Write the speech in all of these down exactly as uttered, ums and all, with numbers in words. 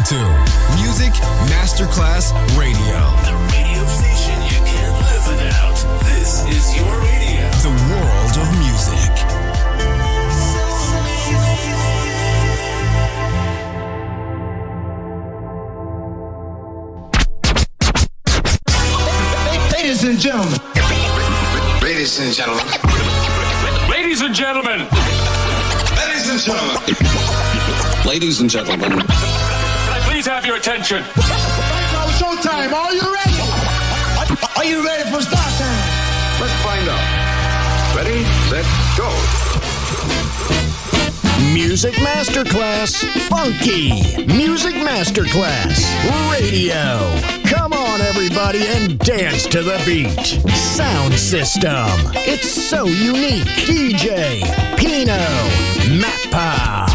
to Music Masterclass Radio. The radio station you can't live without. This is your radio. The world of music. Ladies and gentlemen. Ladies and gentlemen. Ladies and gentlemen. Ladies and gentlemen. Ladies and gentlemen. Can I please have your attention? Now showtime. Are you ready? Are you ready for start time? Let's find out. Ready, set, go. Music Masterclass Funky. Music Masterclass Radio. Come on, everybody, and dance to the beat. Sound system. It's so unique. D J Pino Mappa.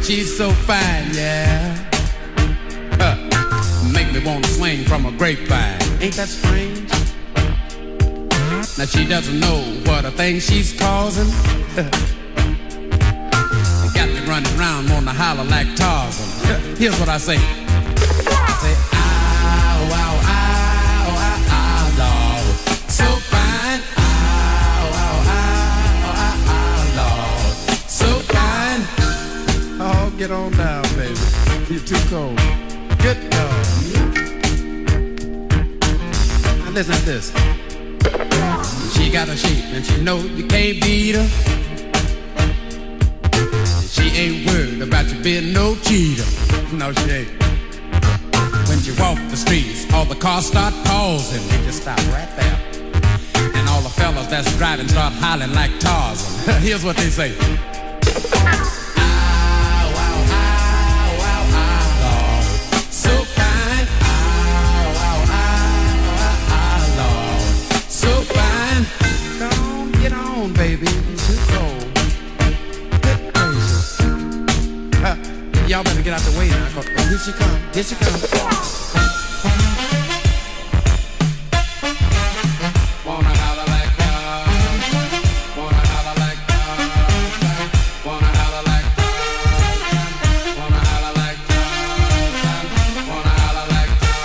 She's so fine, yeah. Huh. Make me want to swing from a grapevine. Ain't that strange? Now she doesn't know what a thing she's causing. Got me running around, wanna holler like Tarzan. Here's what I say. I say, ow, ow, ow, ow, ow, Lord. So fine. Ow, ow, ow, ow, ow, Lord. So fine. Oh, get on down, baby. You're too cold. Good God. Now listen to this. She got a shape and she know you can't beat her. She ain't worried about you being no cheater. No, she ain't. When she walk the streets, all the cars start pausing. They just stop right there. And all the fellas that's driving start hollering like Tarzan. Here's what they say. Baby, too cold. Good gracious. Uh, y'all better get out the way now. Oh, here she come. Here she come. Wanna holler like God. Wanna holler like God. Wanna holler like God. Wanna holler like God. Wanna holler like God.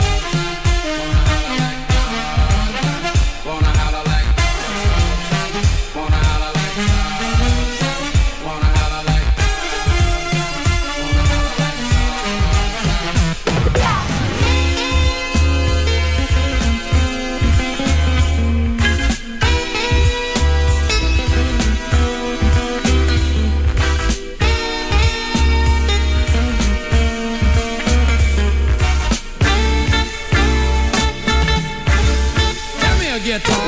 Wanna holler like God. Wanna holler like God. Wanna holler like God. Give me a guitar.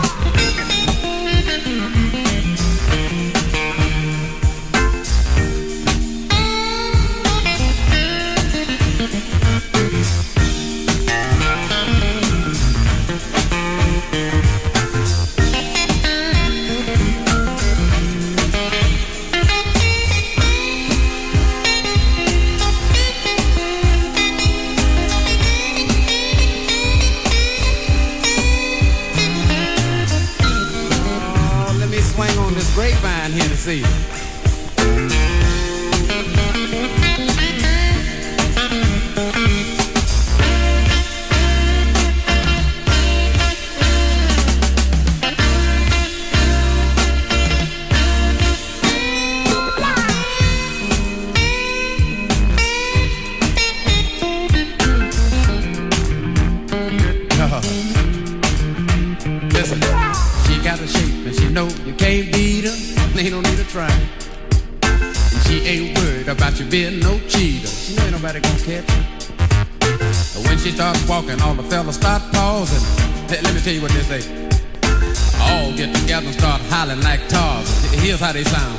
Grapevine here to see you. Listen, she got a shape and she know you can't beat her. Ain't no need to try. And she ain't worried about you being no cheater. She ain't nobody gonna catch you. But when she starts walking, all the fellas start pausing. Let, let me tell you what they say. All get together and start hollering like Tarzan. Here's how they sound.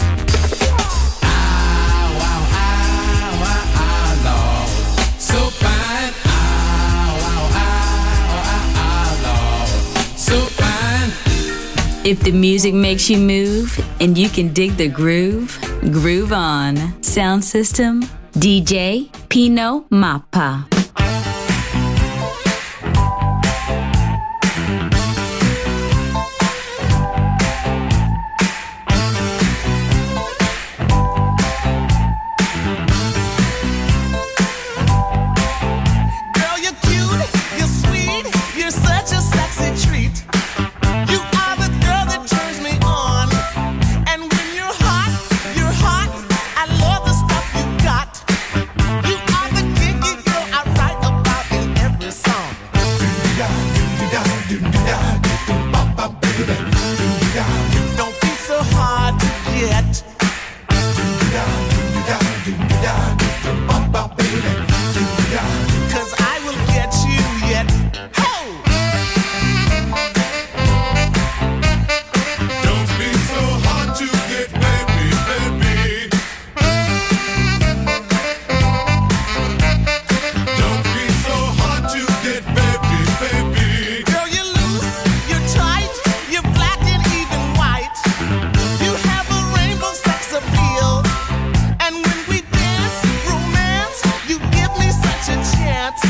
Ow, ow, ow, ow, ow, Lord. So fine. Ow, ow, ow, ow, ow, Lord. So fine. If the music makes you move and you can dig the groove, groove on. Sound system, D J Pino Mappa. I love the stuff you got. You are the kinky girl I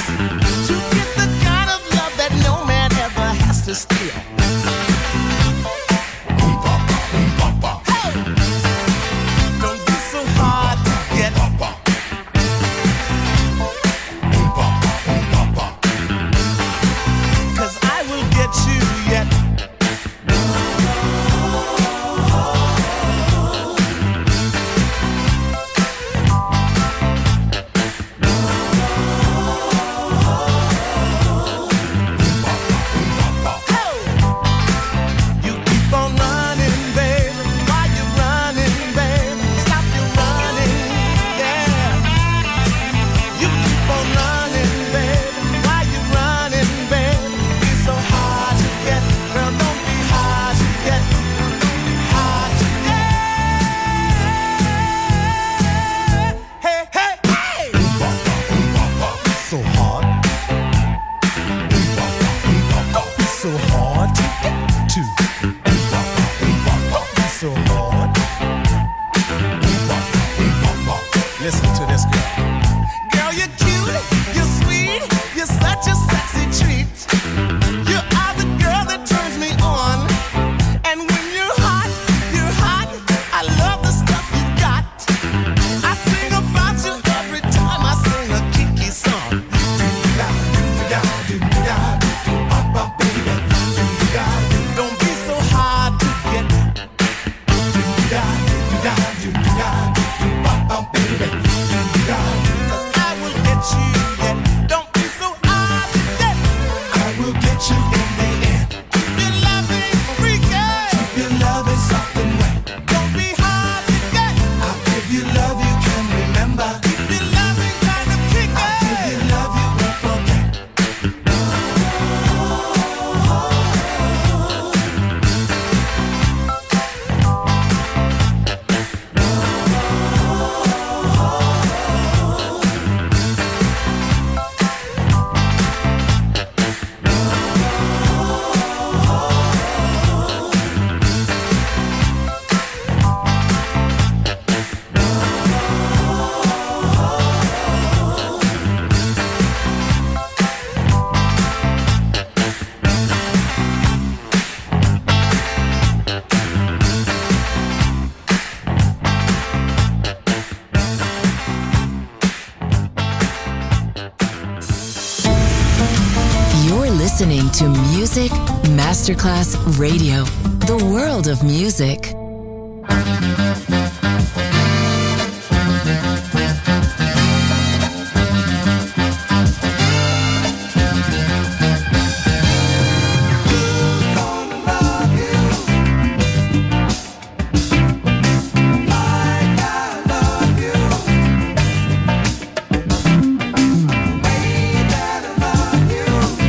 to get the kind of love that no man ever has to steal. Hey! Don't be so hard to get. Cause I will get you yet. Listening to Music Masterclass Radio, the world of music.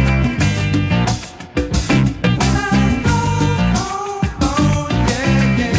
Yeah, yeah.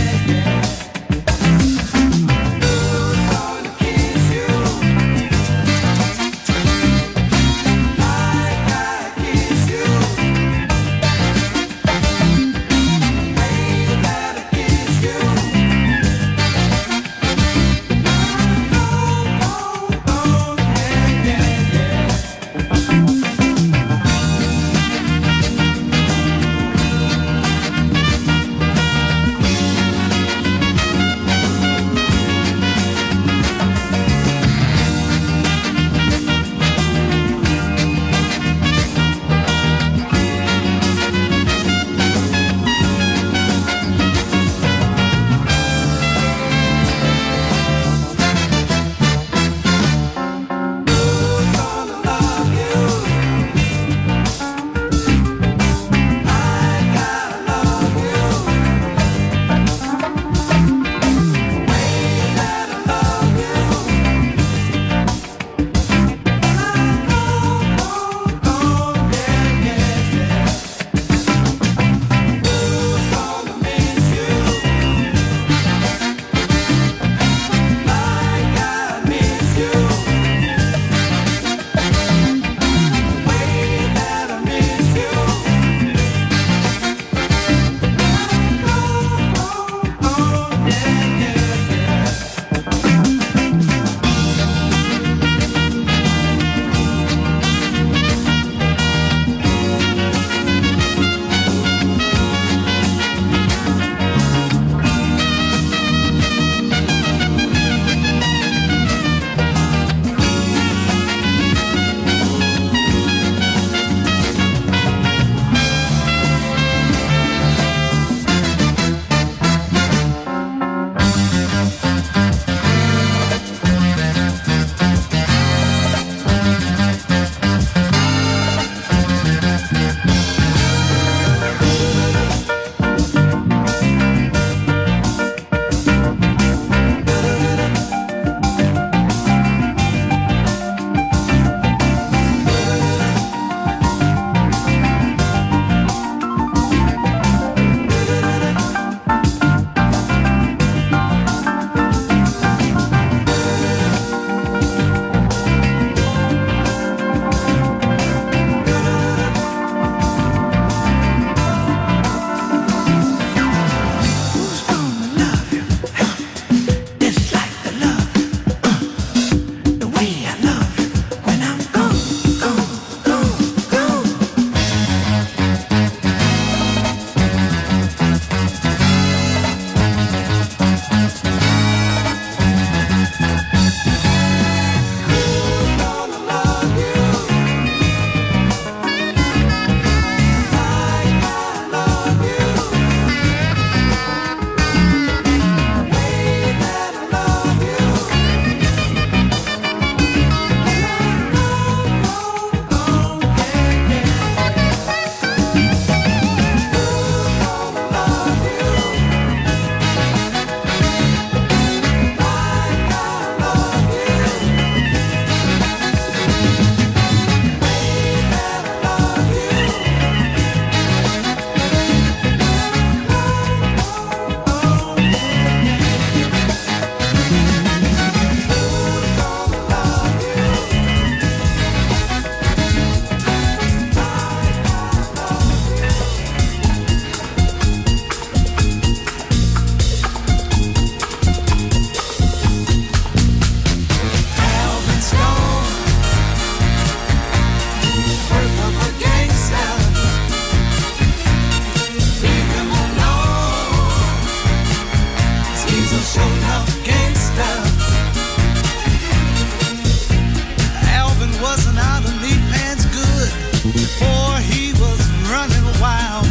before he was running wild.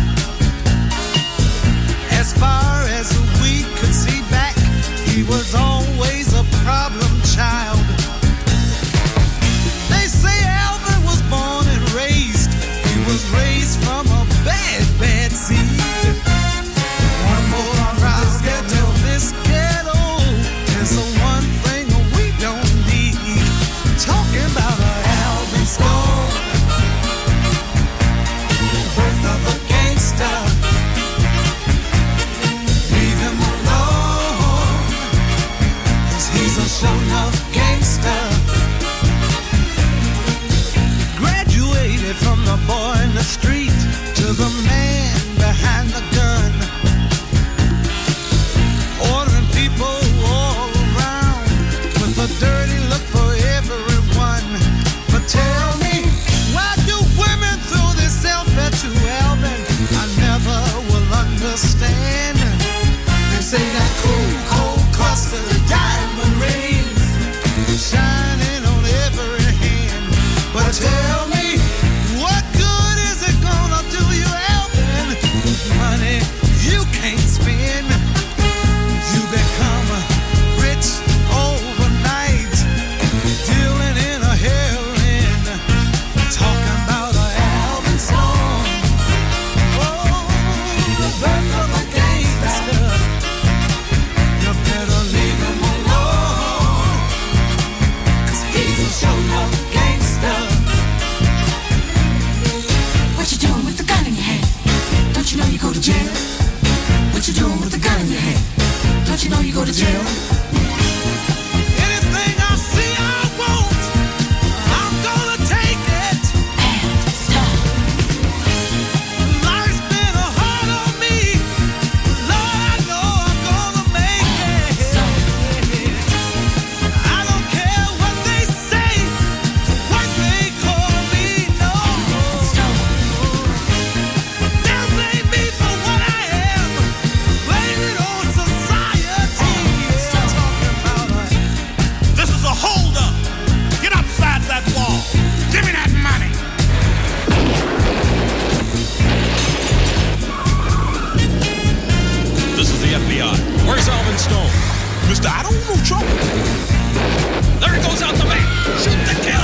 As far as we could see back, he was always a problem child. They say Alvin was born and raised, he was raised from a bad, bad seed. One more problem till this ghetto is the one thing we don't need. Talking about a Alvin Stone, birth of a gangster. Leave him alone, 'cause he's a show-enough gangster. Graduated from the boy in the street to the man behind the gun, ordering people all around with a dirty look for everyone. But tell me, why do women throw themselves at you, Alvin? I never will understand. They say that cool, cold cluster, diamond rings shining on every hand. But tell me, what good is it gonna do you, Alvin? Money you can't spend. You become rich overnight, dealing in a heroin. Talking about a Alvin song. Oh, the birth of a gangster. You better leave him alone, 'cause he's a show-enough gangster. What you doing with the gun in your hand? Don't you know you go to jail? What you doing with the gun in your hand? Don't you know you go to jail? Anything I see I want, I'm gonna take it. Life's been hard on me, Lord, I know I'm gonna make it. I don't care what they say, what they call me, no. They'll blame me for what I am, blame it on society. Talking about a This is a holdup. Get upside that wall. Give me that money. This is the F B I. Where's Alvin Stone? Mister, I don't know trouble. There he goes out the back. Shoot to kill.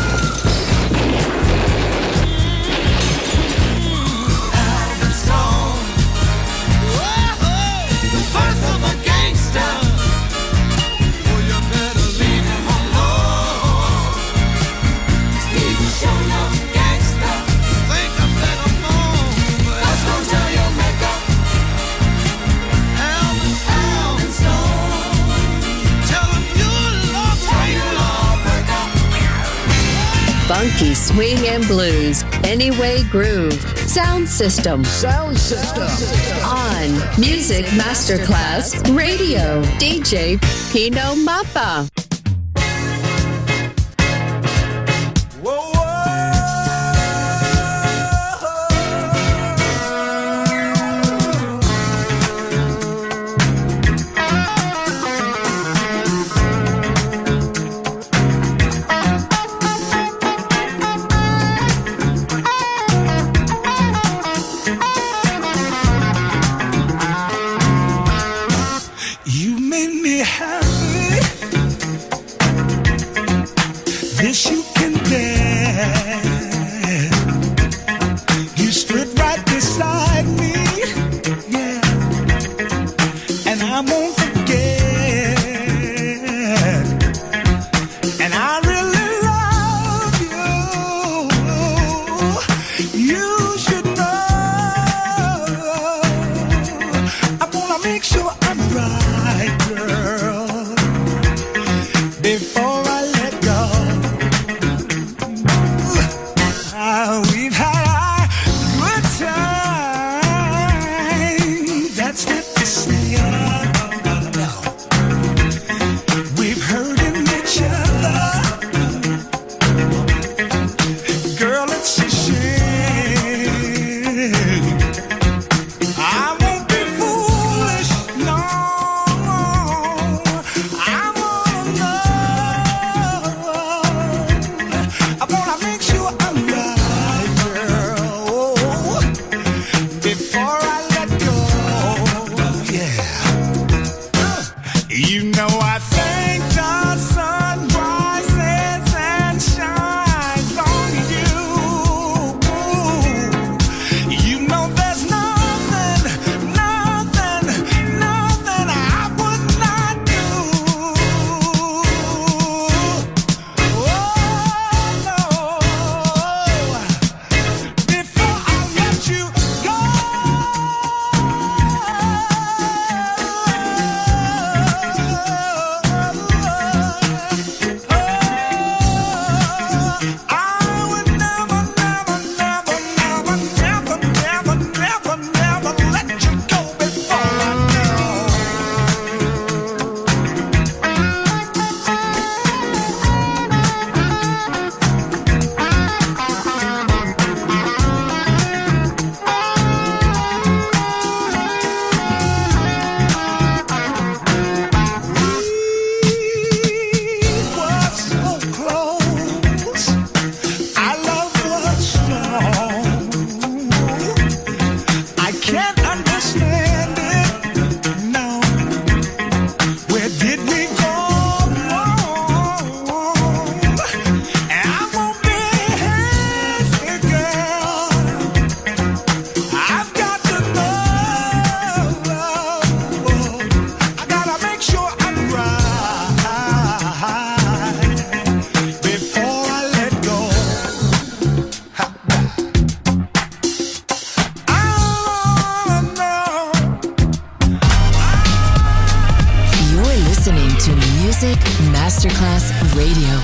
Alvin Stone. Whoa, the birth of a gangster. Oh, you better leave him alone, 'cause he's a show-enough gangster. Think I better move, but that's gonna tell your makeup. Alvin, Alvin Stone. Tell him you love breaker. Funky swing and blues. Anyway Groove. Sound System. Sound System. On Music Masterclass Radio. D J Pino Mappa. You made me happy. Music Masterclass Radio.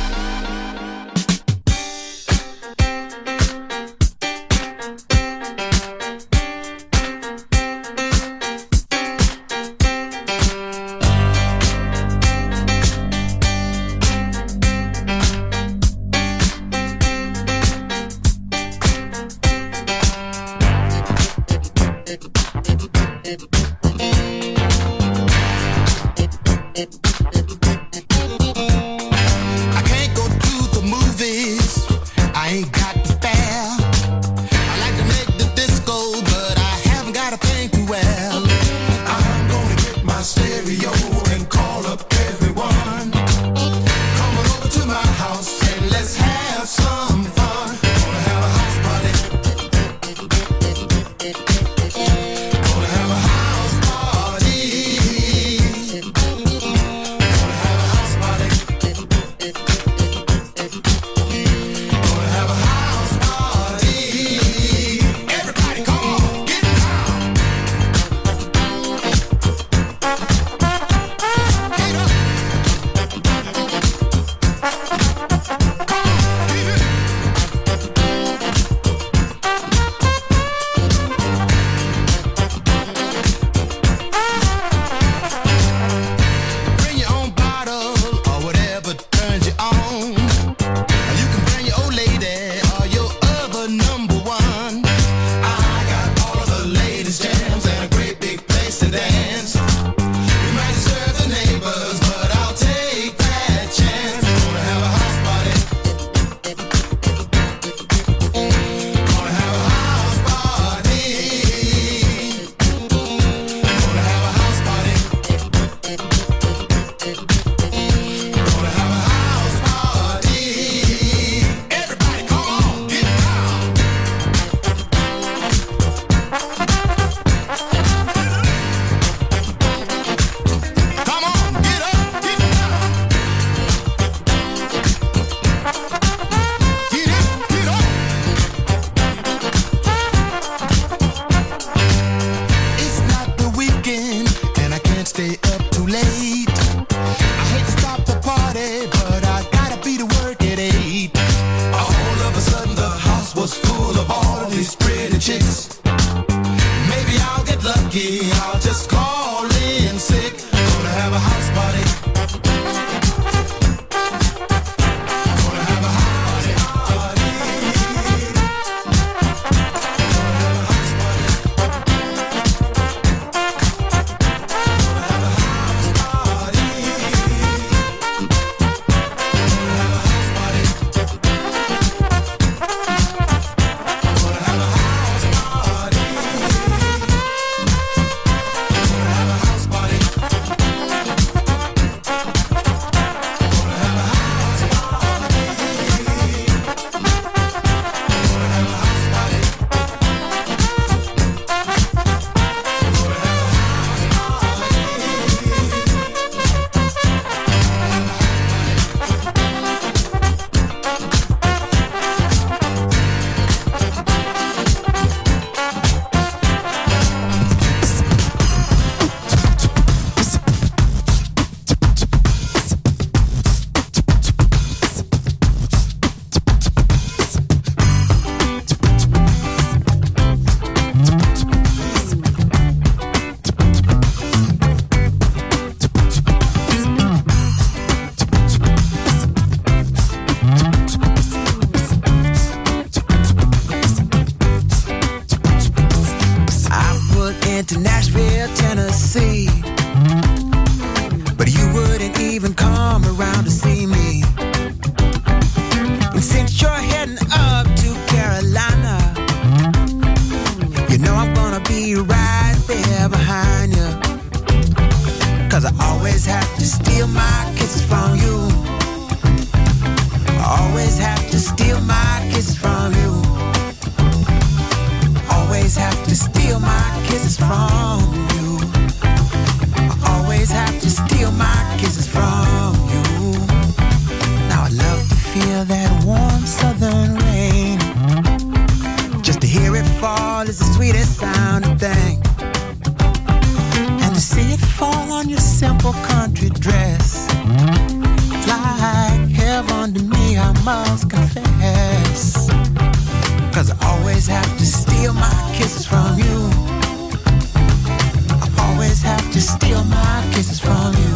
And to see it fall on your simple country dress It's like heaven to me, I must confess. Cause I always have to steal my kisses from you. I always have to steal my kisses from you.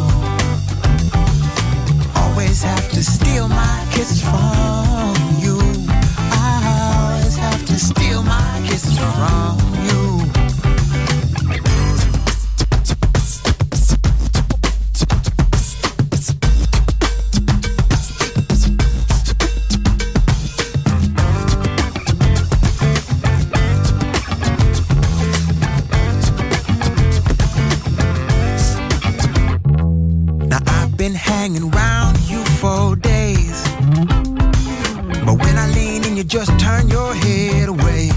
Always have to steal my kisses from you. I always have to steal my kisses from you. Hanging around you for days, but when I lean in, you just turn your head away.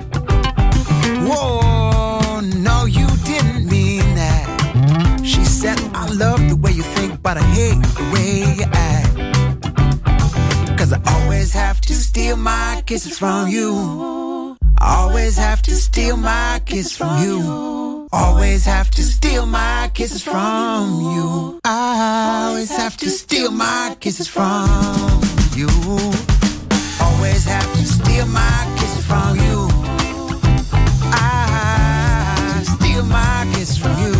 Whoa, no, you didn't mean that. She said, I love the way you think, but I hate the way you act. Cause I always have to steal my kisses from you. I always have to steal my kisses from you. Always have to steal my kisses from you. I always have to steal my kisses from you. Always have to steal my kisses from you. I steal my kisses from you.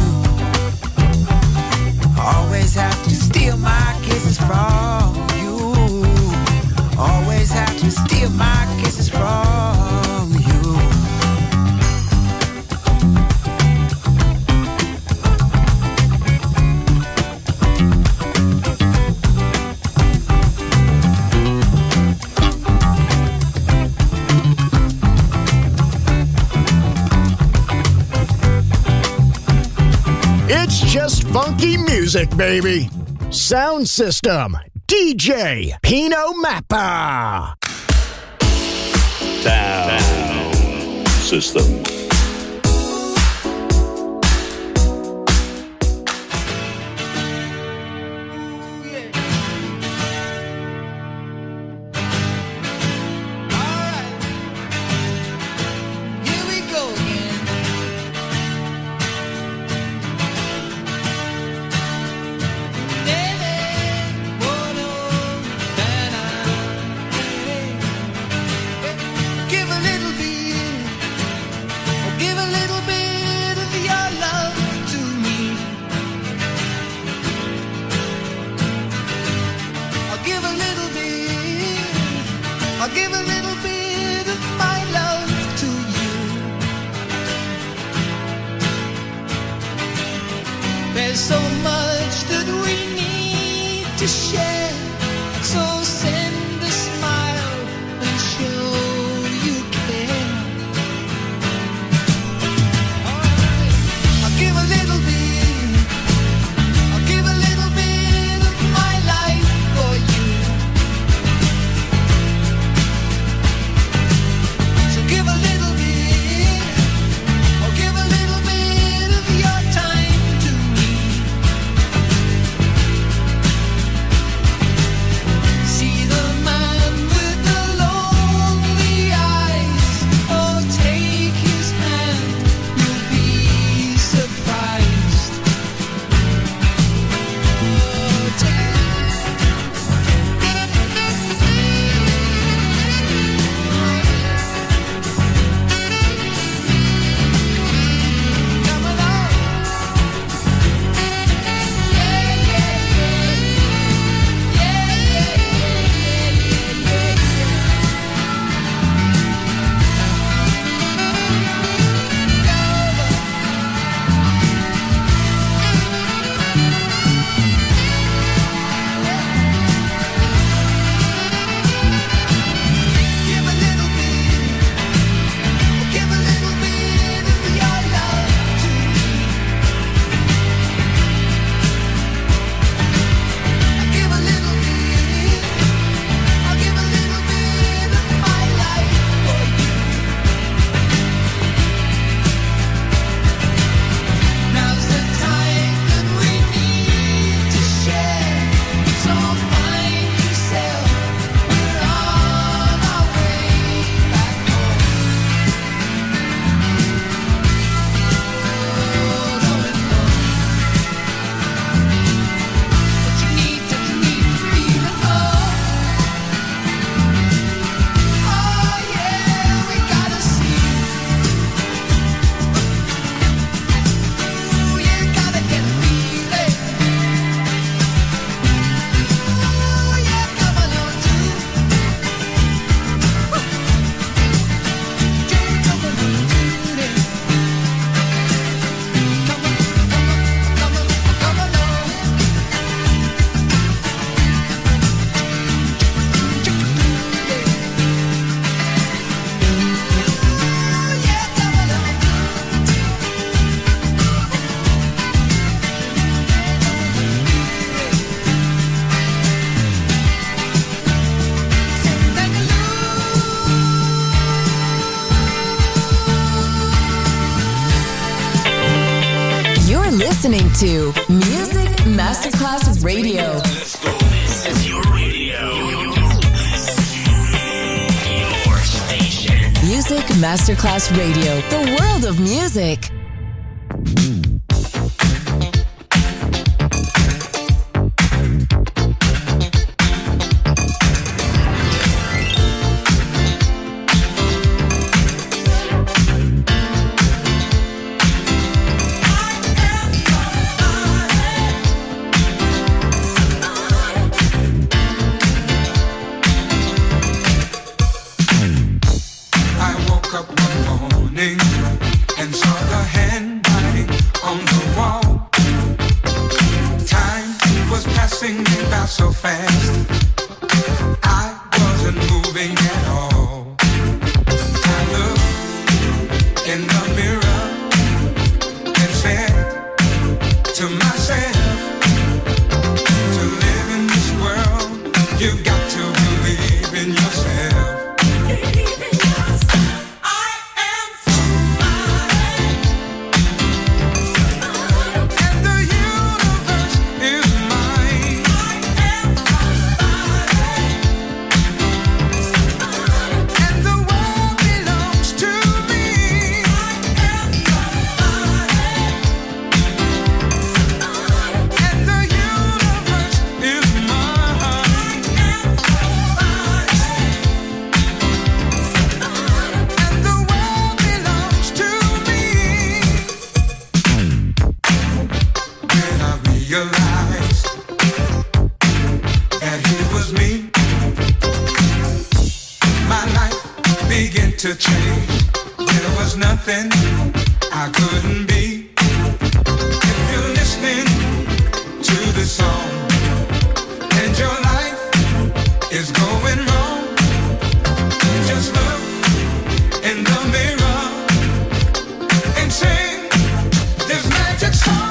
Always have to steal my kisses from you. Always have to steal my kisses from you. It's just funky music, baby. Sound System, D J Pino Mappa. Sound System. So send a smile and show you care. listening to Music Masterclass Radio. Let's go. This is your radio. Your station. Music Masterclass Radio. The world of music. So fast, I wasn't moving at all. I looked in the mirror and said to myself, to live in this world, you've got to believe in yourself. Believe in yourself. I am somebody. Somebody. And the universe is mine. To change, there was nothing I couldn't be. If you're listening to this song and your life is going wrong, just look in the mirror and sing this magic song.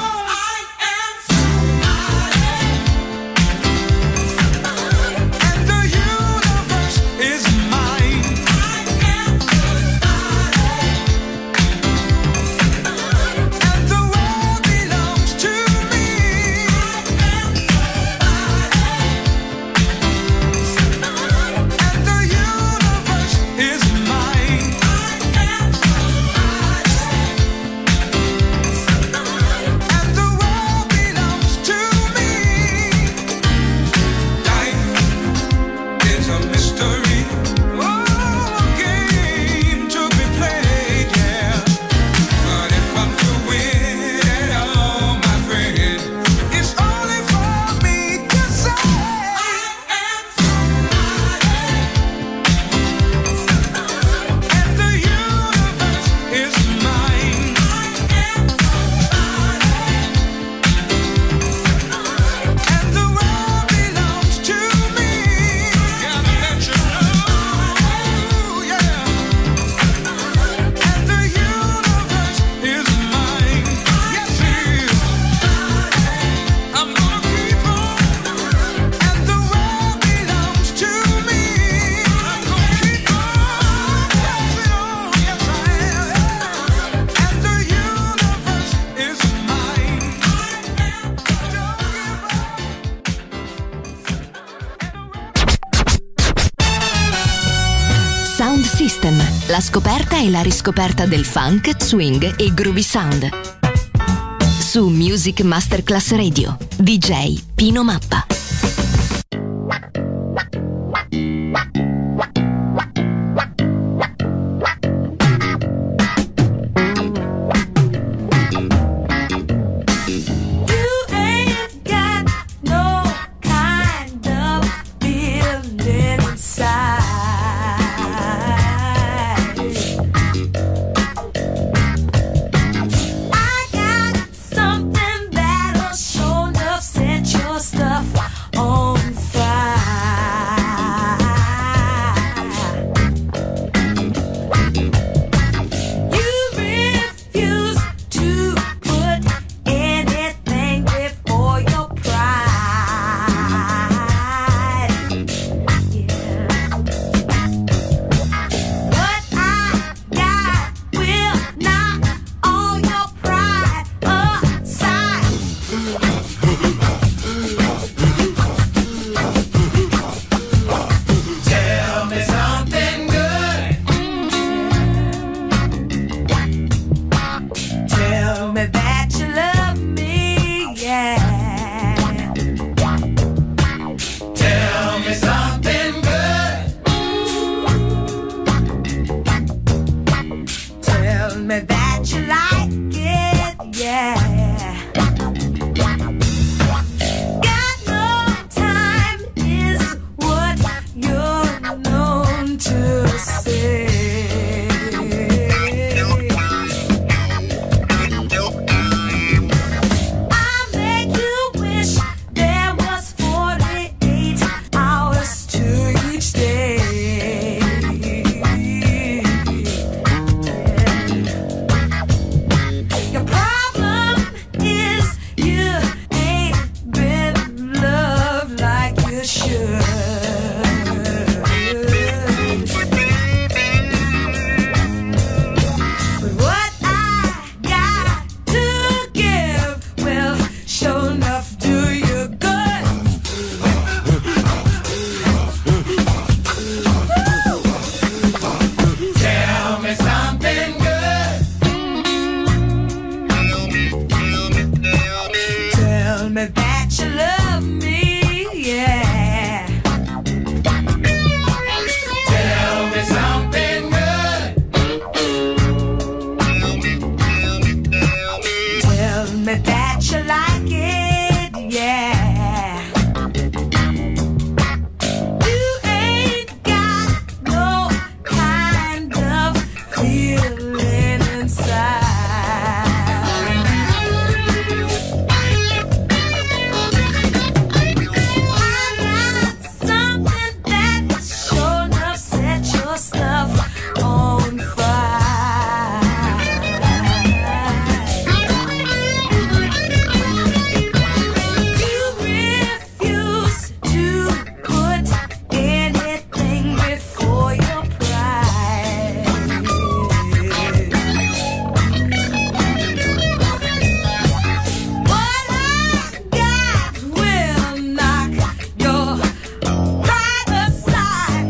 La scoperta e la riscoperta del funk, swing e groovy sound. Su Music Masterclass Radio, D J Pino Mappa. Stuff me that you like it, yeah. Got no time is what you're known to say. I'll make you wish there was forty-eight hours to each day. Your problem is you ain't been loved like you should. But what I got to give will sure enough do you good. Tell me something good. Tell me that you love me, yeah. Tell me something good. Tell me that you like it, yeah. You ain't got no kind of feeling inside. Something that sure enough set your stuff on fire. You refuse to put anything before your pride. What I got will knock your pride aside.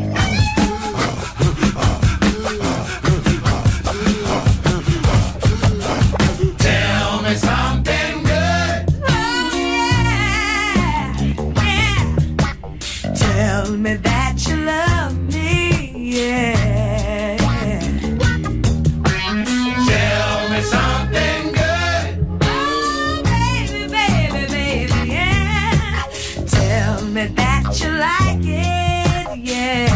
Tell me something good. Oh, yeah, yeah. Tell me that you love me, yeah. Tell me something good. Oh, baby, baby, baby, yeah. Tell me that you like it, yeah.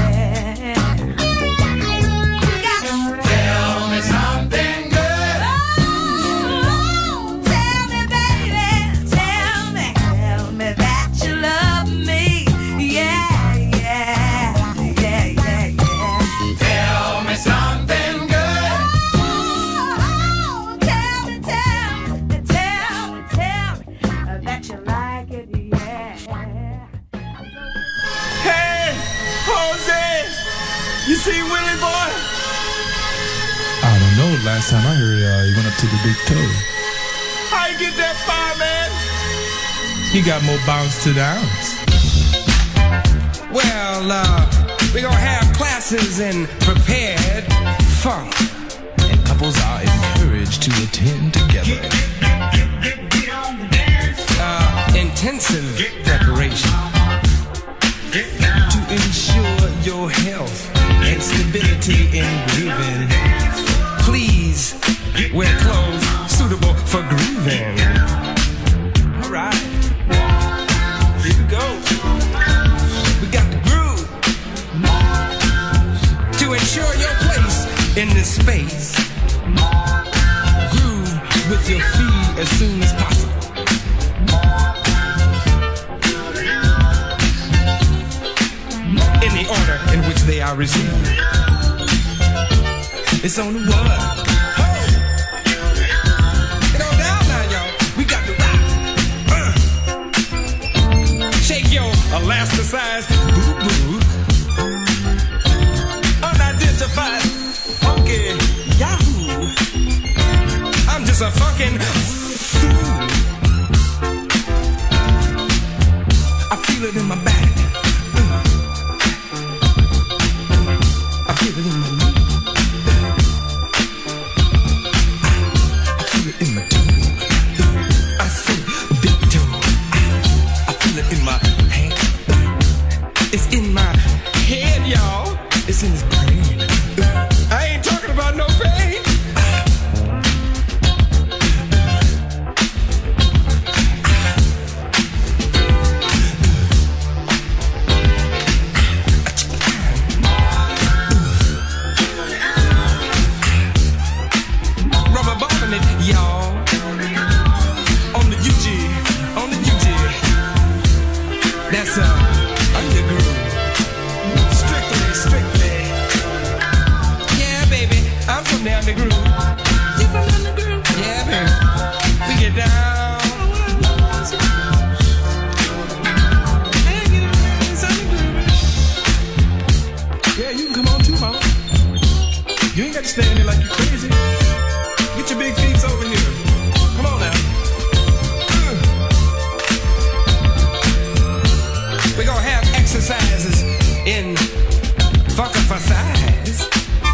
Tell me something good. Oh, tell me, baby, tell me, tell me that you love me, yeah, yeah, yeah, yeah, yeah. Tell me something good. Oh, tell me, tell me, tell me, tell me uh, that you like it, yeah. Hey, Jose, you see Willie boy? I don't know. Last time I heard, uh, he went up to the big toe. How you get that far, man? He got more bounce to the ounce. Well, uh, we're gonna have classes in prepared funk. And couples are encouraged to attend together. Uh, intensive preparation. To ensure your health and stability in grooving. Please wear clothes suitable for grooving. All right. Here we go. We got the groove to ensure your place in this space. Groove with your feet as soon as possible. In the order in which they are received. It's on the one. Get on down now, y'all. We got the rock. Uh. Shake your elasticized boo-boo. Unidentified funky yahoo. I'm just a fucking fool. I feel it in my back. I feel it in my knee. I feel it in my toe. I say big toe. I feel it in my hand. It's in my head, y'all. It's in his brain. I ain't talking about no pain. getting down the groove. Yeah, baby. We get down. Yeah, you can come on too, mama. You ain't got to stand there like you're crazy. Get your big feet over here. Come on now. We're gonna have exercises in fucking for size.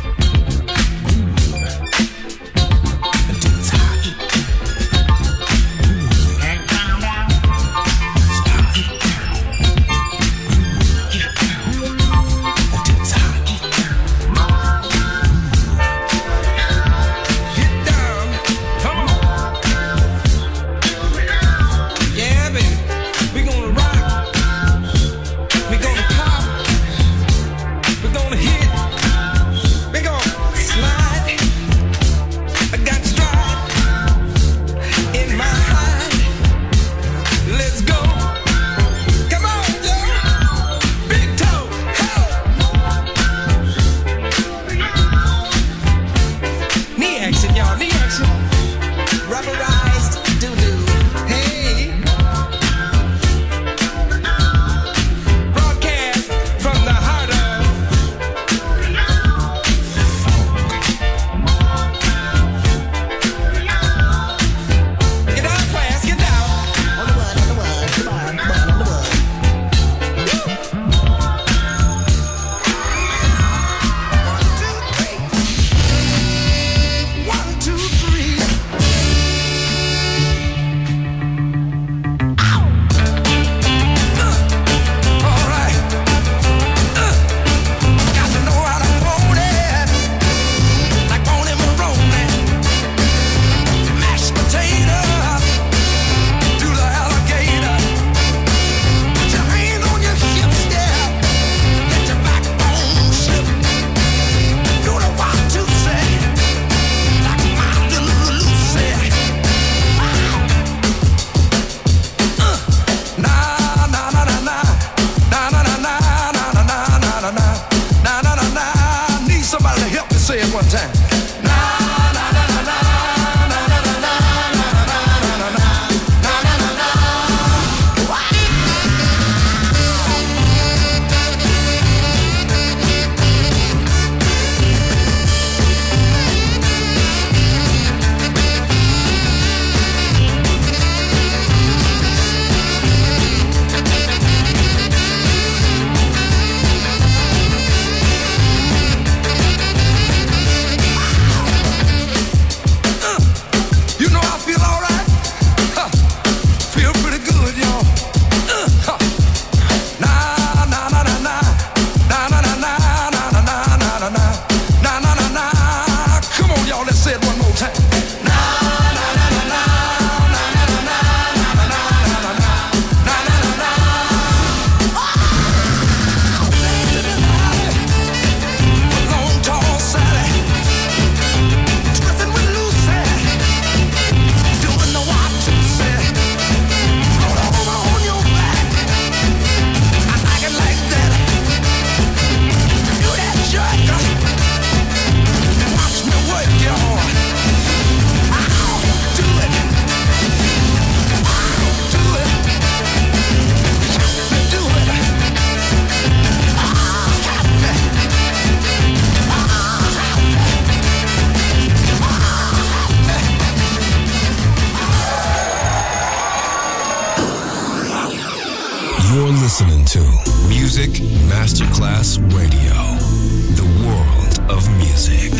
listening to Music Masterclass Radio, the world of music.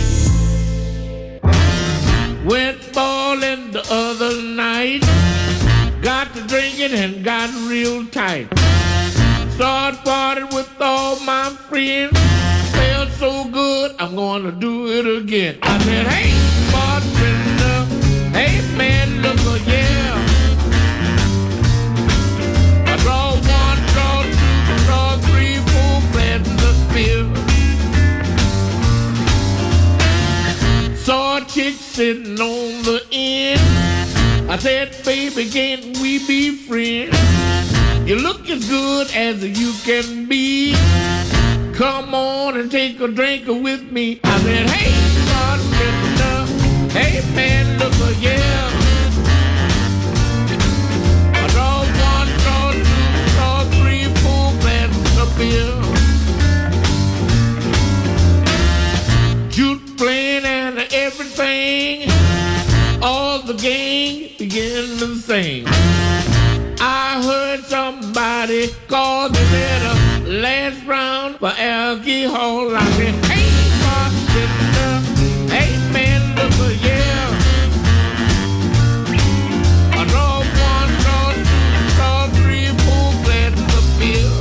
Went bowling the other night, got to drinking and got real tight. Started partying with all my friends, felt so good, I'm gonna do it again. I said, hey, bartender, hey man, look, oh, yeah. I draw one, draw two, draw three, four glasses of beer. Saw a chick sitting on the end. I said, baby, can't we be friends? You look as good as you can be. Come on and take a drink with me. I said, hey, bartender, hey man, look a yeah. I draw one, draw two, draw three, four glasses of beer. Jute playing and everything, all the gang began to sing. I heard somebody call the letter last round for alcohol. I said, hey, bartender, hey man, look a yeah. I draw one, draw two, draw three, four glasses of beer.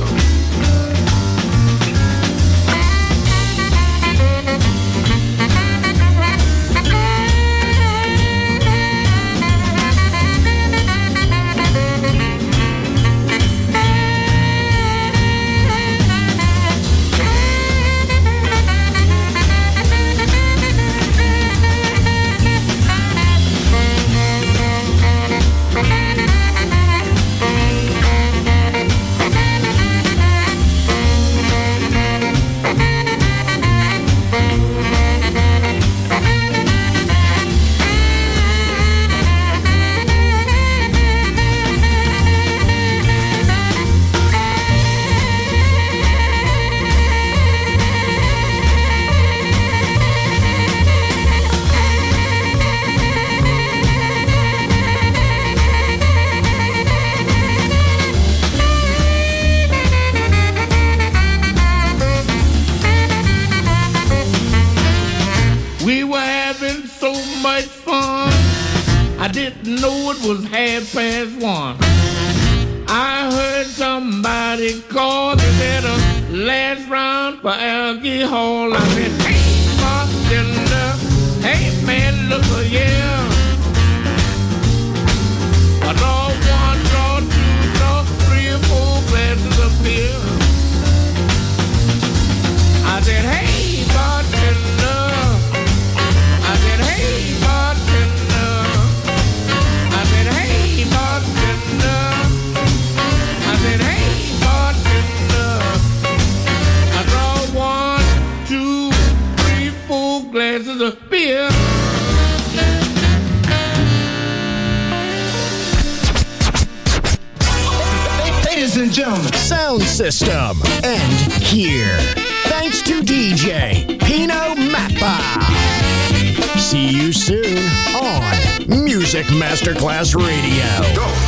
We were having so much fun, I didn't know it was half past one. I heard somebody call the letter last round for alcohol. I said, hey, bartender, hey man, look a yeah. I draw one, draw two, draw three or four glasses of beer. I said, hey, bartender. I said, hey, bartender. I said, hey, bartender. I said, hey, bartender. I draw one, two, three, four glasses of beer. Ladies and gentlemen, Sound System end here. Thanks to D J Pino Mappa. See you soon on Music Masterclass Radio. Go.